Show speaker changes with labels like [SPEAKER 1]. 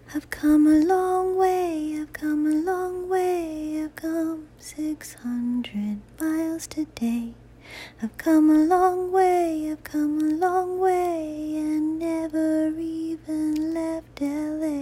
[SPEAKER 1] I've come a long way, I've come a long way, I've come 600 miles today. I've come a long way, I've come a long way, and never even left LA.